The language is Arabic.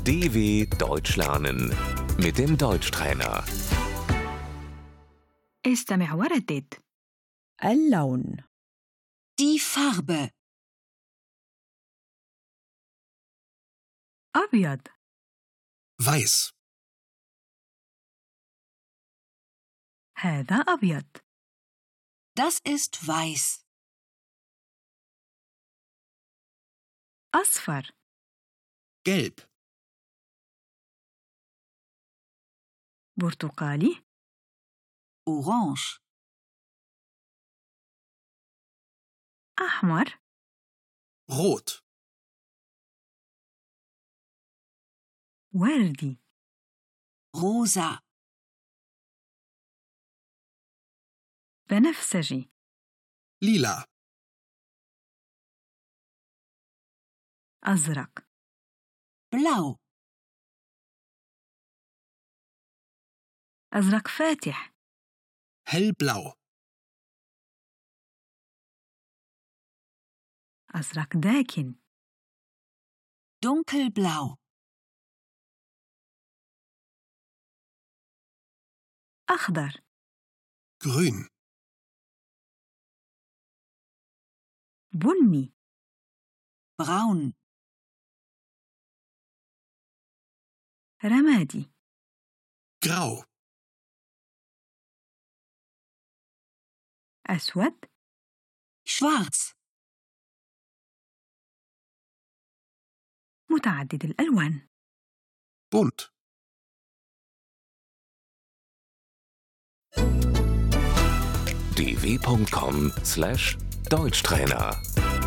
DW Deutsch lernen mit dem Deutschtrainer. استمع وردد. اللون. Die Farbe. أبيض. Weiß. هذا أبيض. Das ist weiß. أصفر. Gelb. برتقالي. Orange. أحمر. Rot. وردي. Rosa. بنفسجي. Lila. أزرق. Blau. أزرق فاتح. Hellblau. أزرق داكن. Dunkelblau. أخضر. Grün. بني. Braun. رمادي. Grau. أسود. Schwarz. متعدد الألوان. Bunt. dw.com/Deutschtrainer